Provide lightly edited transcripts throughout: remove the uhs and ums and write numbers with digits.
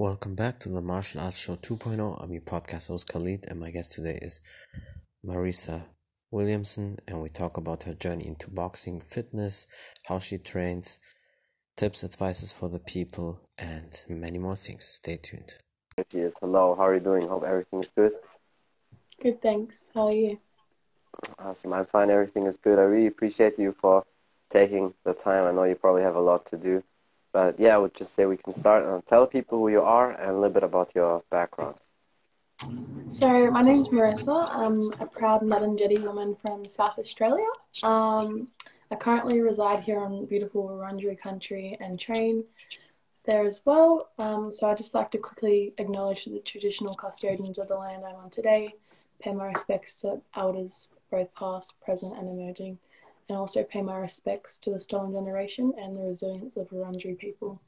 Welcome back to the Martial Arts Show 2.0. I'm your podcast host Khalid, and my guest today is Marisa Williamson, and we talk about her journey into boxing, fitness, how she trains, tips, advices for the people, and many more things. Stay tuned. Yes, hello, how are you doing? Hope everything is good. Good, thanks. How are you? Awesome, I'm fine, everything is good. I really appreciate you for taking the time. I know you probably have a lot to do. But yeah, I would just say we can start. Tell people who you are and a little bit about your background. So my name's Marissa. I'm a proud Ngarrindjeri woman from South Australia. I currently reside here on beautiful Wurundjeri country and train there as well. So I'd just like to quickly acknowledge the traditional custodians of the land I'm on today, pay my respects to elders, both past, present and emerging, and also pay my respects to the stolen generation and the resilience of Wurundjeri people.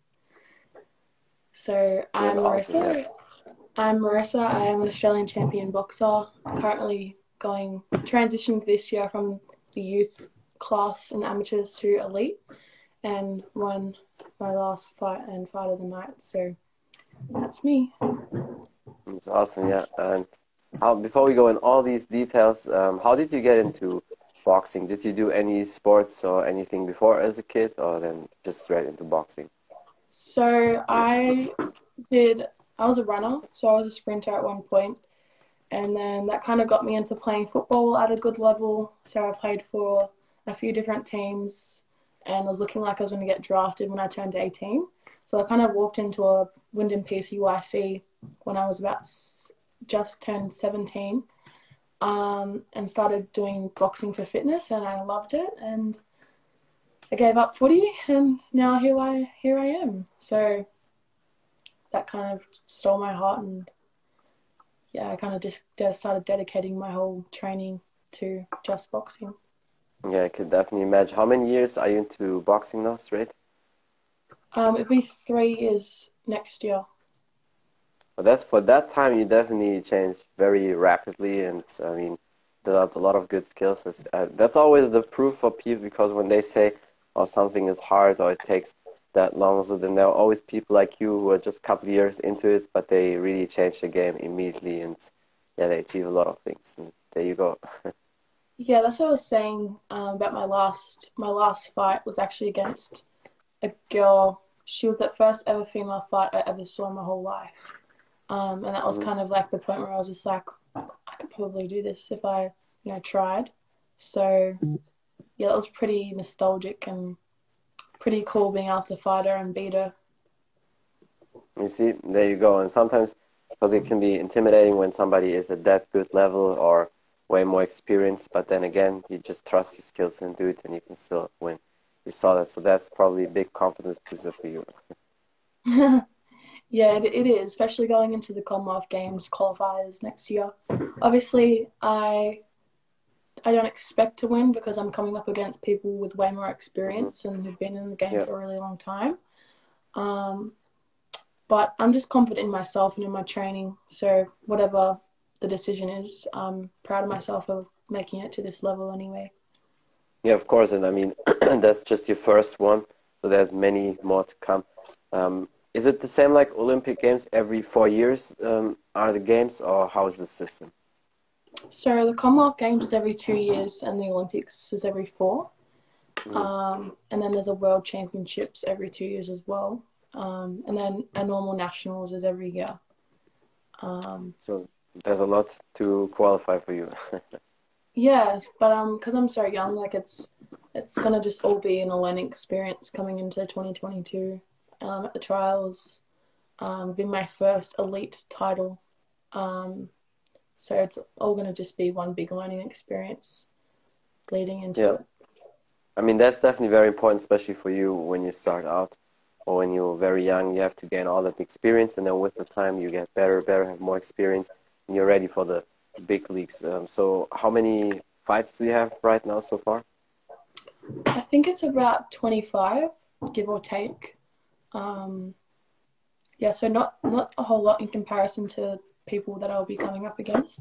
So I'm Marissa. I am an Australian champion boxer, currently transitioning this year from the youth class and amateurs to elite, and won my last fight and fight of the night. So that's me. It's awesome, yeah. And before we go in all these details, how did you get into boxing? Did you do any sports or anything before as a kid, or then just straight into boxing? So I was a runner, so I was a sprinter at one point, and then that kind of got me into playing football at a good level. So I played for a few different teams, and it was looking like I was going to get drafted when I turned 18. So I kind of walked into a Wyndham PCYC when I was about just turned 17, and started doing boxing for fitness, and I loved it, and I gave up footy, and now here I am. So that kind of stole my heart, and yeah, I kind of just started dedicating my whole training to just boxing. Yeah, I could definitely imagine. How many years are you into boxing now, straight? It'll be 3 years next year. Well, for that time, you definitely changed very rapidly, and I mean, developed a lot of good skills. That's always the proof for people, because when they say, "Oh, something is hard," or "it takes that long," so then there are always people like you who are just a couple of years into it, but they really change the game immediately, and yeah, they achieve a lot of things. And there you go. Yeah, that's what I was saying about my last fight was actually against a girl. She was the first ever female fight I ever saw in my whole life. And that was kind of like the point where I was just like, I could probably do this if I, tried. So yeah, it was pretty nostalgic and pretty cool being able to fight her and beat her. You see, there you go. And sometimes, because it can be intimidating when somebody is at that good level or way more experienced, but then again, you just trust your skills and do it, and you can still win. You saw that, so that's probably a big confidence booster for you. Yeah, it is, especially going into the Commonwealth Games qualifiers next year. Obviously, I don't expect to win because I'm coming up against people with way more experience and who've been in the game for a really long time. But I'm just confident in myself and in my training. So whatever the decision is, I'm proud of myself for making it to this level anyway. Yeah, of course. And I mean, that's just your first one. So there's many more to come. Is it the same like Olympic Games every 4 years are the games, or how is the system? So the Commonwealth Games is every 2 years and the Olympics is every 4. And then there's a World Championships every 2 years as well. And then a normal nationals is every year. So there's a lot to qualify for you. Yeah, but because I'm so young, like it's gonna just all be a learning experience coming into 2022. At the trials, being my first elite title. So it's all gonna just be one big learning experience leading into it. I mean, that's definitely very important, especially for you when you start out or when you're very young. You have to gain all that experience, and then with the time, you get better, have more experience, and you're ready for the big leagues. So how many fights do you have right now so far? I think it's about 25, give or take. Yeah, so not a whole lot in comparison to people that I'll be coming up against.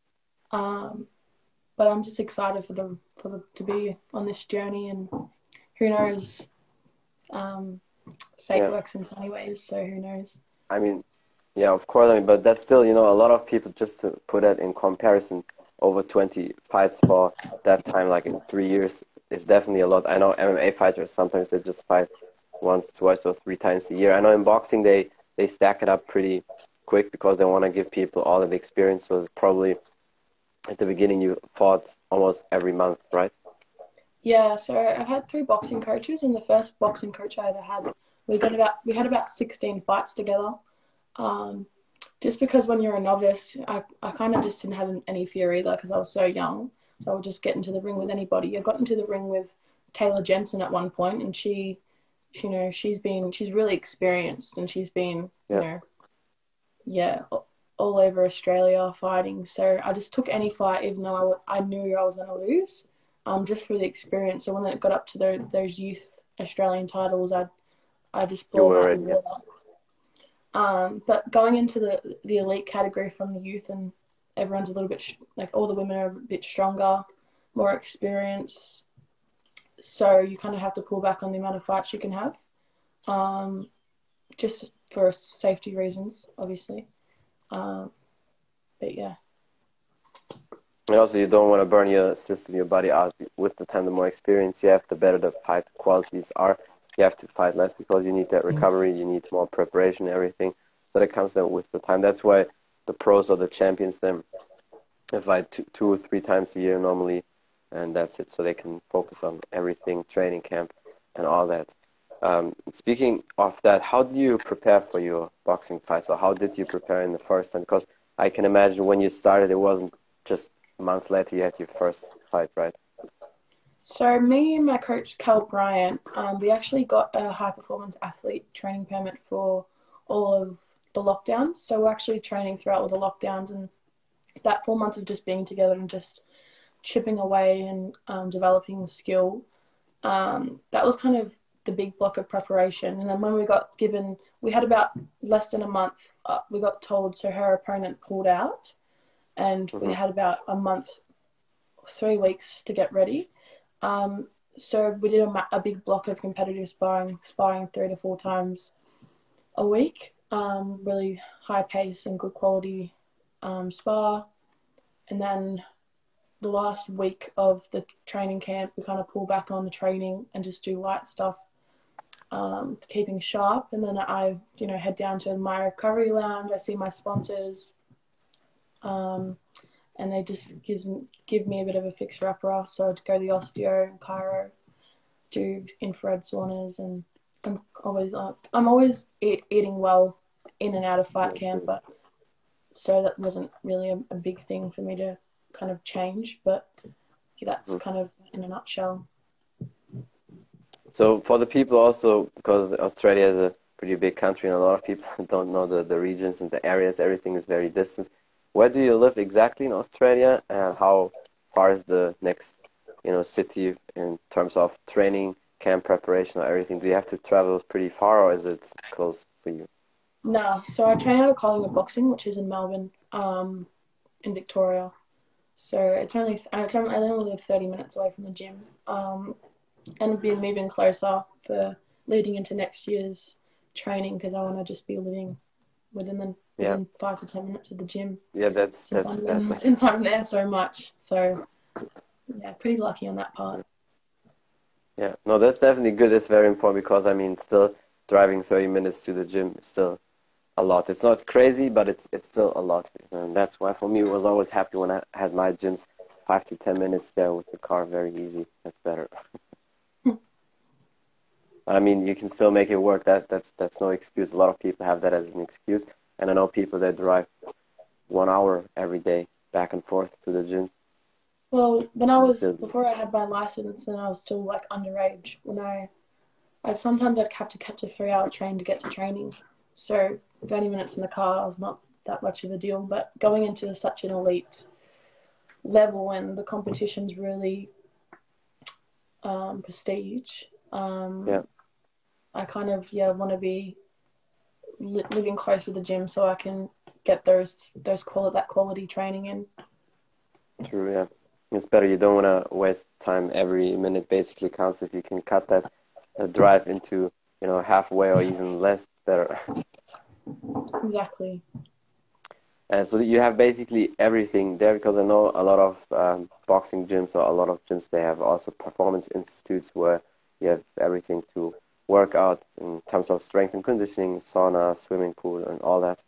But I'm just excited to be on this journey, and who knows, fate works in funny ways, so who knows. I mean, Yeah, of course. I mean, but that's still, you know, a lot of people, just to put it in comparison, over 20 fights for that time, like in 3 years, is definitely a lot. I know MMA fighters, sometimes they just fight once, twice, or three times a year. I know in boxing they stack it up pretty quick because they want to give people all of the experience. So it's probably at the beginning you fought almost every month, right? Yeah, so I've had three boxing coaches, and the first boxing coach I ever had, we had about 16 fights together. Um, just because when you're a novice, I kind of just didn't have any fear either because I was so young. So I would just get into the ring with anybody. I got into the ring with Taylor Jensen at one point, and she's really experienced, and she's been, Yeah, yeah, all over Australia fighting. So I just took any fight, even though I knew I was going to lose, just for the experience. So when it got up to those youth Australian titles, I just you blew them were out the ready. Yeah. water. But going into the elite category from the youth, and everyone's a little bit like all the women are a bit stronger, more experienced. So you kind of have to pull back on the amount of fights you can have, um, just for safety reasons, obviously. Um, but yeah. And also, you don't want to burn your system, your body out. With the time, the more experience you have, the better the fight qualities are. You have to fight less because you need that recovery, you need more preparation, everything. So that comes then with the time. That's why the pros or the champions then fight two or three times a year normally, and that's it. So they can focus on everything, training camp, and all that. Speaking of that, how do you prepare for your boxing fights, or how did you prepare in the first time? Because I can imagine when you started, it wasn't just months later you had your first fight, right? So me and my coach Cal Bryant, we actually got a high performance athlete training permit for all of the lockdowns. So we're actually training throughout all the lockdowns, and that 4 months of just being together and just chipping away and developing skill. That was kind of the big block of preparation. And then when we had about less than a month. We got told, so her opponent pulled out, and we Mm-hmm. had about a month, 3 weeks to get ready. Um, so we did a big block of competitive sparring 3 to 4 times a week. Really high pace and good quality spar. And then the last week of the training camp, we kind of pull back on the training and just do light stuff, keeping sharp. And then I, head down to my recovery lounge. I see my sponsors, um, and they just give me a bit of a fixer upper. So I'd go to the osteo and chiro, do infrared saunas, and I'm always eating well in and out of fight That's camp, good. but so that wasn't really a big thing for me to kind of change. But yeah, that's Mhm. kind of in a nutshell. So for the people also, because Australia is a pretty big country and a lot of people don't know the regions and the areas, everything is very distant. Where do you live exactly in Australia, and how far is the next, city in terms of training, camp preparation, or everything? Do you have to travel pretty far, or is it close for you? No, so I train out of Collingwood Boxing, which is in Melbourne, in Victoria. So I only live 30 minutes away from the gym, and be moving closer for leading into next year's training because I want to just be living Yeah, within 5 to 10 minutes of the gym yeah, that's since that's that's nice. since I'm there so much. So yeah, pretty lucky on that That's part. good. Yeah, no, that's definitely good. That's very important because I mean, still driving 30 minutes to the gym is still a lot. It's not crazy, but it's still a lot. And that's why for me it was always happy when I had my gyms 5 to 10 minutes there with the car, very easy. That's better. I mean, you can still make it work. That's no excuse. A lot of people have that as an excuse, and I know people that drive 1 hour every day back and forth to the gyms. Well, And it's still, before I had my license and I was still like underage, I sometimes I'd have to catch a 3 hour train to get to training. So 30 minutes in the car was not that much of a deal. But going into such an elite level and the competition's really prestige, yeah, I kind of want to be living close to the gym so I can get that quality training in. true. Yeah, it's better. You don't want to waste time. Every minute basically counts. If you can cut that drive into halfway or even less, it's better. Exactly. So you have basically everything there, because I know a lot of boxing gyms, or a lot of gyms, they have also performance institutes where you have everything to work out in terms of strength and conditioning, sauna, swimming pool, and all that.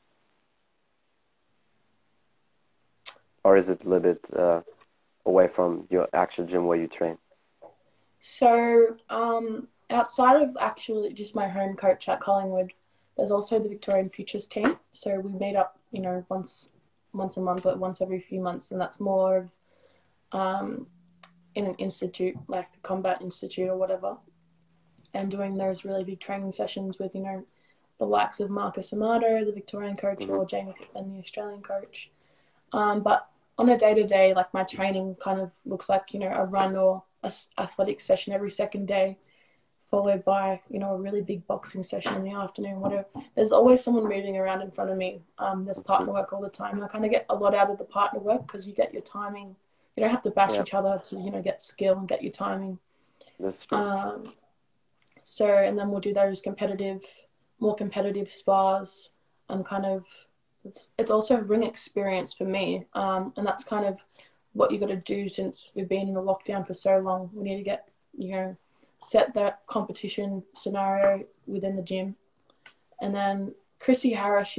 Or is it a little bit away from your actual gym where you train? So, outside of actually just my home coach at Collingwood, there's also the Victorian Futures team. So we meet up, once a month or once every few months, and that's more of in an institute like the Combat Institute or whatever, and doing those really big training sessions with the likes of Marcus Amato, the Victorian coach, Mm-hmm. or Jamie Pittman, the Australian coach. But on a day-to-day, like my training kind of looks like a run or a athletic session every second day, followed by a really big boxing session in the afternoon. Whatever. There's always someone moving around in front of me. There's partner work all the time. I kind of get a lot out of the partner work because you get your timing. You don't have to bash Yeah, each other to get skill and get your timing. that's true. So and then we'll do those more competitive spars, and kind of it's also ring experience for me. And that's kind of what you got to do since we've been in the lockdown for so long. We need to get set that competition scenario within the gym. And then Chrissy Harris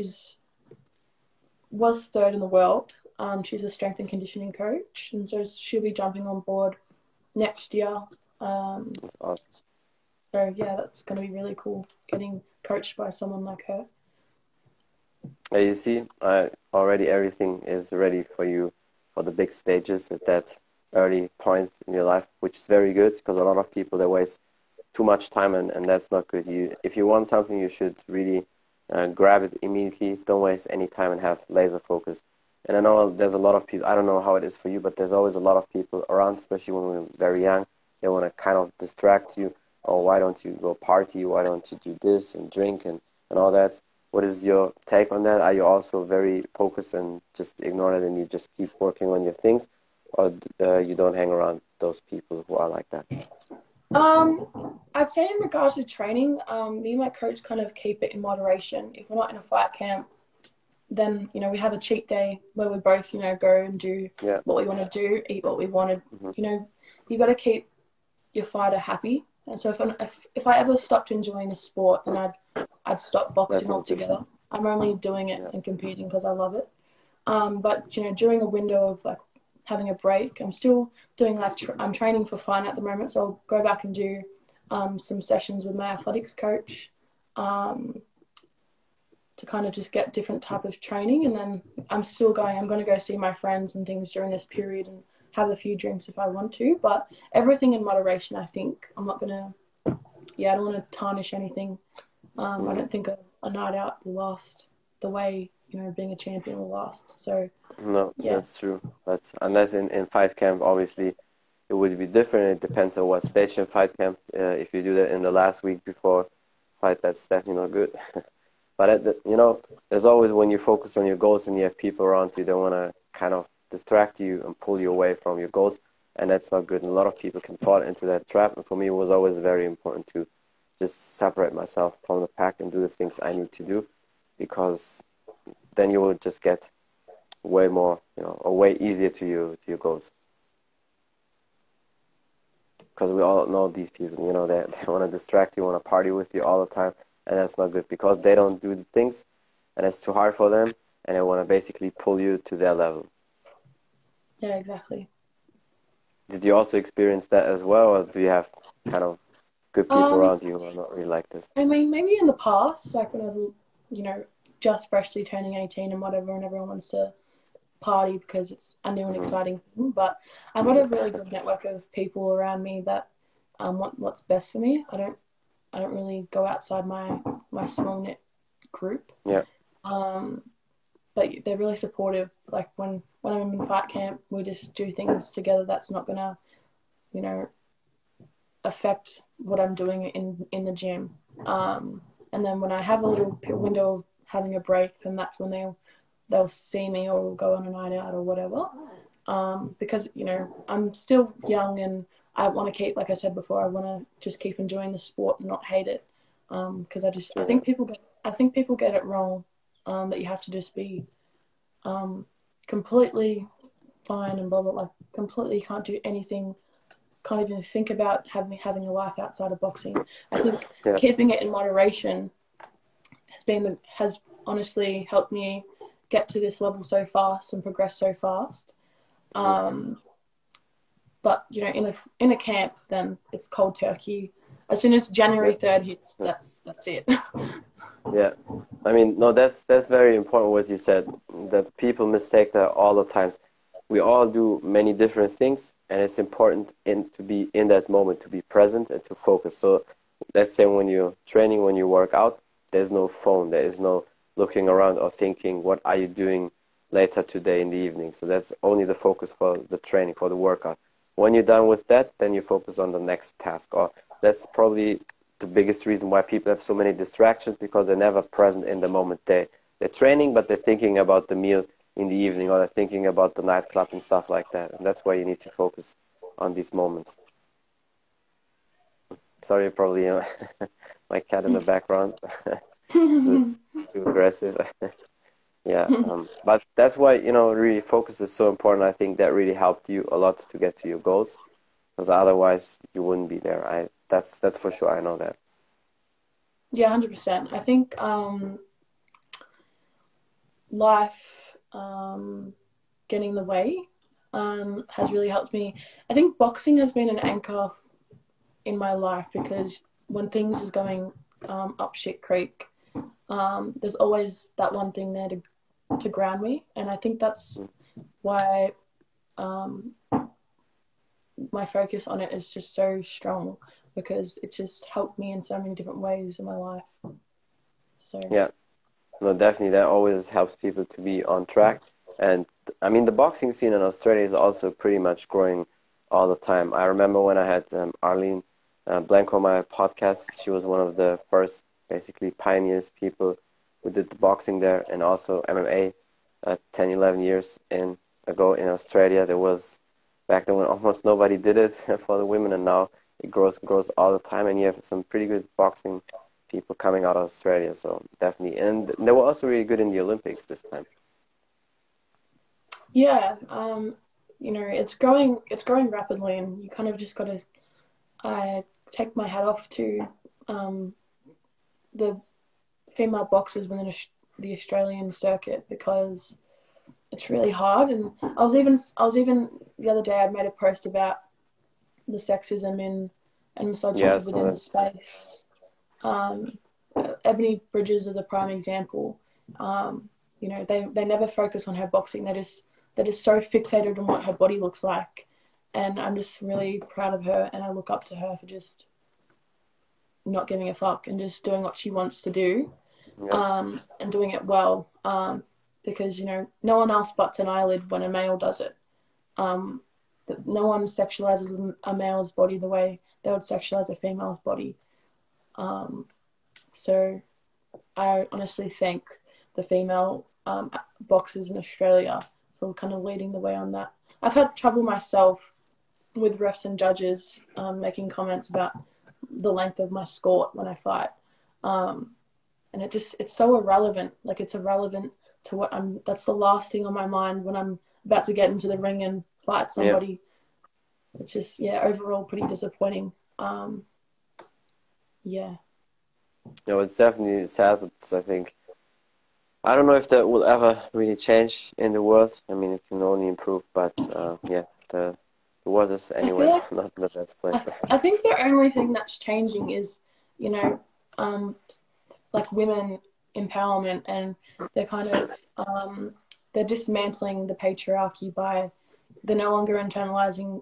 was third in the world. She's a strength and conditioning coach, and so she'll be jumping on board next year. That's awesome. So yeah, that's going to be really cool getting coached by someone like her. You see, already everything is ready for you for the big stages at that early point in your life, which is very good, because a lot of people, they waste too much time, and that's not good. If you want something, you should really grab it immediately. Don't waste any time and have laser focus. And I know there's a lot of people, I don't know how it is for you, but there's always a lot of people around, especially when we're very young. They want to kind of distract you. Oh, why don't you go party? Why don't you do this and drink and all that? What is your take on that? Are you also very focused and just ignore it and you just keep working on your things? Or you don't hang around those people who are like that? I'd say in regards to training, me and my coach kind of keep it in moderation. If we're not in a fight camp, then we have a cheat day where we both go and do Yeah. what we want to do, eat what we wanted. Mm-hmm. You got to keep your fighter happy. And so if I ever stopped enjoying a sport, then I'd stop That's boxing not good. altogether. I'm only doing it Yeah. and competing because I love it. But during a window of like having a break, I'm still doing I'm training for fun at the moment, so I'll go back and do some sessions with my athletics coach to kind of just get different type of training. And then I'm going to go see my friends and things during this period and have a few drinks if I want to, but everything in moderation. I think I'm not gonna I don't want to tarnish anything. I don't think a night out will last the way being a champion will last. So No, yeah, that's true. But unless in fight camp, obviously, it would be different. It depends on what stage in fight camp. If you do that in the last week before fight, that's definitely not good. But there's always, when you focus on your goals and you have people around you, they want to kind of distract you and pull you away from your goals, and that's not good. And a lot of people can fall into that trap. And for me, it was always very important to just separate myself from the pack and do the things I need to do, because then you will just get way more, or way easier to your goals. Because we all know these people, they want to distract you, want to party with you all the time, and that's not good, because they don't do the things, and it's too hard for them, and they want to basically pull you to their level. yeah, exactly. Did you also experience that as well, or do you have kind of good people around you who are not really like this? I mean, maybe in the past, like when I was, just freshly turning 18 and whatever, and everyone wants to party because it's a new and exciting thing. But I've got a really good network of people around me that want what's best for me. I don't really go outside my small knit group. Yeah. But they're really supportive. Like when I'm in fight camp, we just do things together that's not gonna, affect what I'm doing in the gym. And then when I have a little window of having a break, then that's when they'll see me or we'll go on a night out or whatever. Because I'm still young and I want to keep, like I said before, I want to just keep enjoying the sport and not hate it. Because I think people get I think people get it wrong, that you have to just be completely fine and blah blah, like completely can't do anything, can't even think about having a life outside of boxing. I think Yeah. keeping it in moderation has honestly helped me get to this level so fast and progress so fast. But you know, in a camp, then it's cold turkey. As soon as January 3rd hits, that's it. Yeah, I mean, no, that's very important what you said, that people mistake that all the times. We all do many different things, and it's important to be in that moment, to be present and to focus. So let's say when you're training, when you work out, there's no phone, there is no looking around or thinking, what are you doing later today in the evening? So that's only the focus for the training, for the workout. When you're done with that, then you focus on the next task. Or that's probably the biggest reason why people have so many distractions, because they're never present in the moment. They're training, but they're thinking about the meal in the evening, or they're thinking about the nightclub and stuff like that. And that's why you need to focus on these moments. Sorry, probably my cat in the background. It's too aggressive. Yeah, but that's why, really focus is so important. I think that really helped you a lot to get to your goals, because otherwise you wouldn't be there. That's for sure. I know that. Yeah, 100%. I think life getting in the way has really helped me. I think boxing has been an anchor in my life, because when things is going up shit creek, there's always that one thing there to ground me, and I think that's why my focus on it is just so strong, because it just helped me in so many different ways in my life. So yeah, no, definitely that always helps people to be on track. And I mean, the boxing scene in Australia is also pretty much growing all the time. I remember when I had Arlene Blanco on my podcast. She was one of the first, basically, pioneers, people who did the boxing there, and also MMA 10, 11 years ago in Australia. There was, back then, when almost nobody did it for the women, and now it grows all the time, and you have some pretty good boxing people coming out of Australia, so definitely. And they were also really good in the Olympics this time. yeah, it's growing rapidly, and you kind of just got to take my hat off to the female boxers within the Australian circuit, because it's really hard. And I was even the other day, I made a post about the sexism and misogyny within the space. Ebony Bridges is a prime example. They never focus on her boxing. They're just so fixated on what her body looks like. And I'm just really proud of her, and I look up to her for just not giving a fuck and just doing what she wants to do, and doing it well. Because, no one else butts an eyelid when a male does it. No one sexualizes a male's body the way they would sexualize a female's body. So I honestly thank the female boxers in Australia for kind of leading the way on that. I've had trouble myself with refs and judges making comments about the length of my skirt when I fight. And it's so irrelevant. Like, it's irrelevant to that's the last thing on my mind when I'm about to get into the ring and fight somebody. Yeah. It's just, overall pretty disappointing. Yeah. No, it's definitely sad, but I think, I don't know if that will ever really change in the world. I mean, it can only improve, but the world is anyway not the best place. I think the only thing that's changing is, like women empowerment, and they're kind of they're dismantling the patriarchy by they're no longer internalizing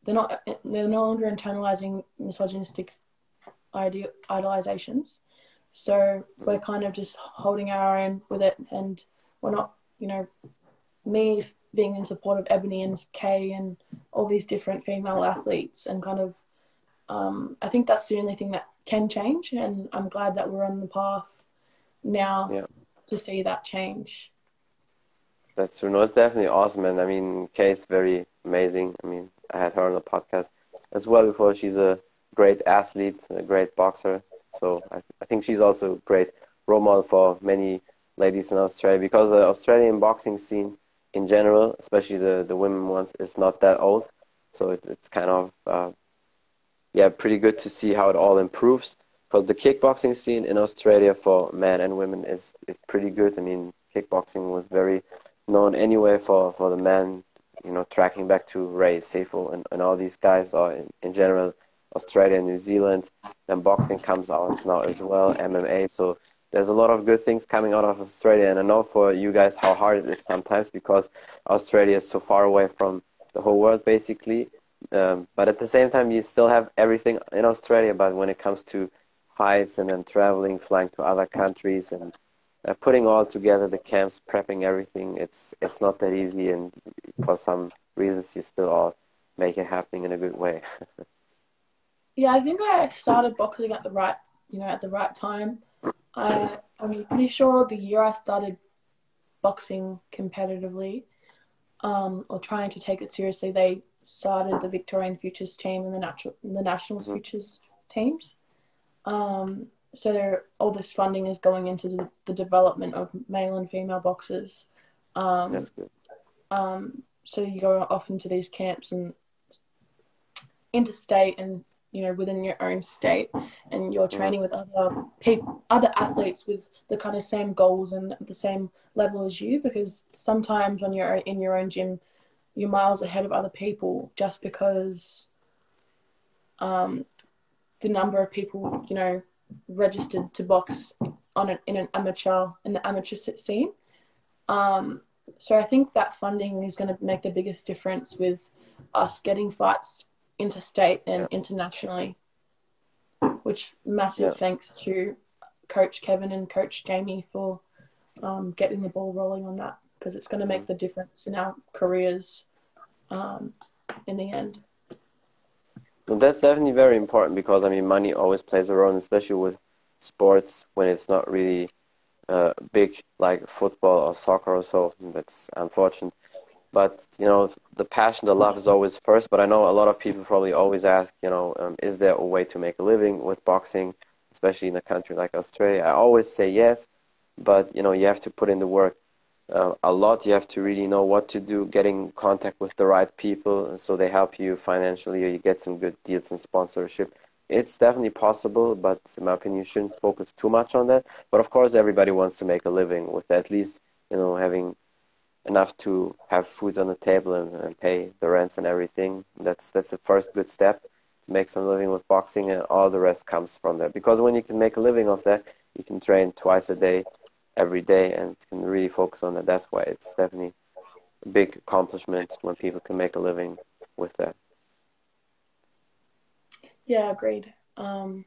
misogynistic idealizations. So we're kind of just holding our own with it, and we're not, me being in support of Ebony and Kay and all these different female athletes, and kind of I think that's the only thing that can change, and I'm glad that we're on the path now to see that change. That's true. No, it's definitely awesome, and I mean, Kay is very amazing. I mean, I had her on the podcast as well before. She's a great athlete, a great boxer. So I think she's also a great role model for many ladies in Australia because the Australian boxing scene in general, especially the women ones, is not that old. So it's kind of yeah, pretty good to see how it all improves. Because the kickboxing scene in Australia for men and women is pretty good. I mean, kickboxing was very known anyway for the men, you know, tracking back to Ray Sefo and all these guys, or in general, Australia, New Zealand. Then boxing comes out now as well, MMA. So there's a lot of good things coming out of Australia. And I know for you guys how hard it is sometimes because Australia is so far away from the whole world, basically. But at the same time, you still have everything in Australia. But when it comes to fights and then traveling, flying to other countries and putting all together the camps, prepping everything, it's not that easy. And for some reasons, you still all make it happening in a good way. Yeah, I think I started boxing at the right time. I'm pretty sure the year I started boxing competitively, or trying to take it seriously, they started the Victorian Futures team and the Nationals Futures teams. So all this funding is going into the development of male and female boxers. That's good. So you go off into these camps and interstate and within your own state, and you're training with other athletes with the kind of same goals and the same level as you, because sometimes in your own gym you're miles ahead of other people just because the number of people registered to box in the amateur scene. So I think that funding is going to make the biggest difference with us getting fights interstate and internationally, which massive thanks to Coach Kevin and Coach Jamie for getting the ball rolling on that, because it's going to make the difference in our careers in the end. Well, that's definitely very important because, I mean, money always plays a role, especially with sports when it's not really big like football or soccer or so. That's unfortunate. But, the passion, the love is always first. But I know a lot of people probably always ask, is there a way to make a living with boxing, especially in a country like Australia? I always say yes, but, you have to put in the work a lot. You have to really know what to do, getting in contact with the right people so they help you financially or you get some good deals and sponsorship. It's definitely possible, but in my opinion, you shouldn't focus too much on that. But of course, everybody wants to make a living with at least, having enough to have food on the table and pay the rents and everything. That's the first good step to make some living with boxing, and all the rest comes from that. Because when you can make a living of that, you can train twice a day, every day, and can really focus on that. That's why it's definitely a big accomplishment when people can make a living with that. Yeah, agreed. Not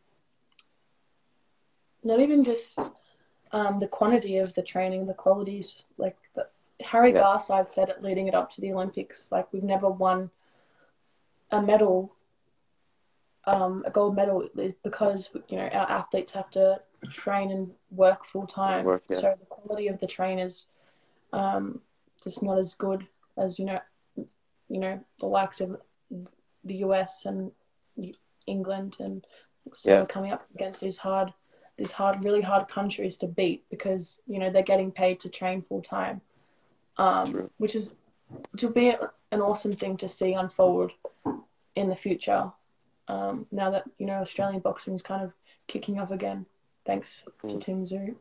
even just the quantity of the training, the qualities, like Harry Garside said it leading it up to the Olympics, like we've never won a medal, a gold medal, because our athletes have to train and work full time. So the quality of the train is just not as good as the likes of the US and England, and so coming up against these really hard countries to beat, because they're getting paid to train full time. Which will be an awesome thing to see unfold in the future. Now that Australian boxing is kind of kicking off again, thanks to Tim Tszyu.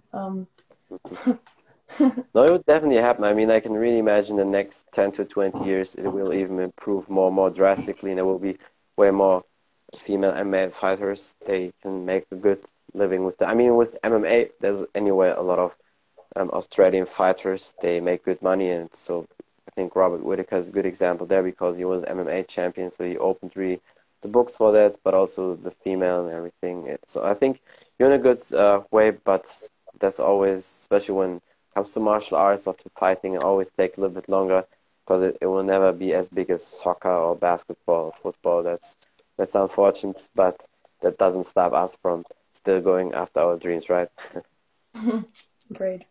No, it would definitely happen. I mean, I can really imagine the next 10 to 20 years it will even improve more and more drastically, and there will be way more female MMA fighters. They can make a good living with that. I mean, with MMA, there's anyway a lot of Australian fighters. They make good money, and so I think Robert Whittaker is a good example there because he was MMA champion, so he opened really the books for that, but also the female and everything. So I think you're in a good way, but that's always, especially when it comes to martial arts or to fighting, it always takes a little bit longer because it will never be as big as soccer or basketball or football. That's unfortunate, but that doesn't stop us from still going after our dreams, right? Great.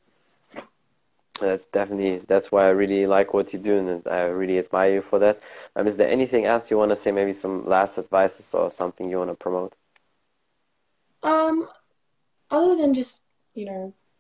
That's why I really like what you do, and I really admire you for that. Is there anything else you want to say? Maybe some last advices or something you want to promote? Other than just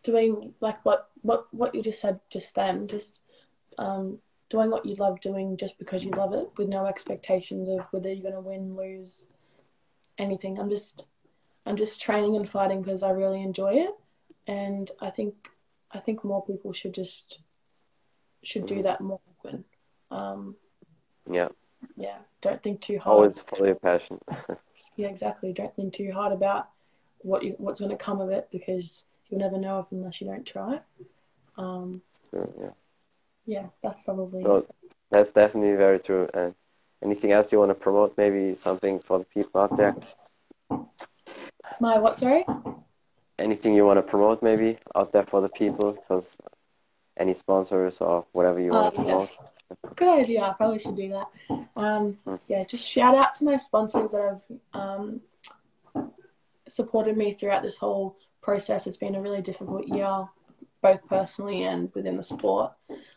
doing like what you just said just then, just doing what you love doing just because you love it, with no expectations of whether you're gonna win, lose, anything. I'm just training and fighting because I really enjoy it, and I think more people should do that more often. Yeah. Yeah, don't think too hard. Always follow your passion. Yeah, exactly. Don't think too hard about what's going to come of it, because you'll never know unless you don't try. True, yeah. Yeah, that's probably No, that's definitely very true. And anything else you want to promote? Maybe something for the people out there? my what? Sorry. Anything you want to promote maybe out there for the people? Because any sponsors or whatever you want to Yeah. promote? Good idea. I probably should do that. Yeah, just shout out to my sponsors that have supported me throughout this whole process. It's been a really difficult year, both personally and within the sport.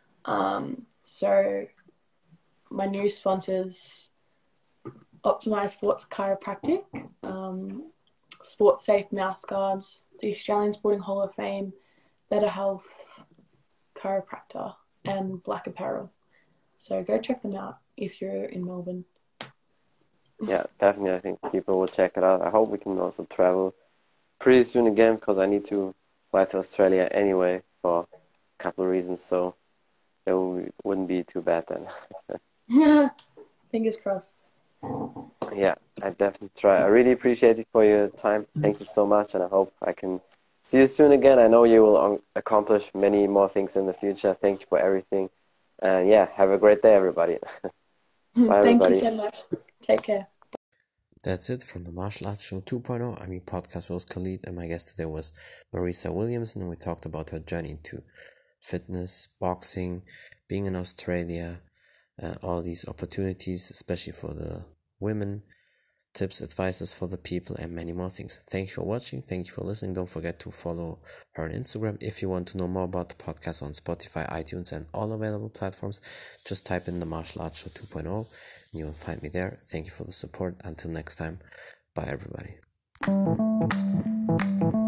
So my new sponsors: Optimize Sports Chiropractic, Sports Safe Mouthguards, the Australian Sporting Hall of Fame, Better Health Chiropractor, and Black Apparel. So go check them out if you're in Melbourne. Yeah, definitely. I think people will check it out. I hope we can also travel pretty soon again, because I need to fly to Australia anyway for a couple of reasons. So it wouldn't be too bad then. Fingers crossed. Yeah, I definitely try. I really appreciate it for your time. Thank you so much, and I hope I can see you soon again. I know you will accomplish many more things in the future. Thank you for everything. And yeah, have a great day, everybody. Bye, Thank everybody. you so much. Take care. That's it from the Martial Arts Show 2.0. I'm your podcast host Khalid, and my guest today was Marisa Williamson, and we talked about her journey into fitness, boxing, being in Australia, all these opportunities, especially for the women, tips, advices for the people, and many more things. Thank you for watching. Thank you for listening. Don't forget to follow her on Instagram. If you want to know more about the podcast on Spotify, iTunes, and all available platforms, just type in the Martial Arts Show 2.0 and you will find me there. Thank you for the support. Until next time, bye everybody.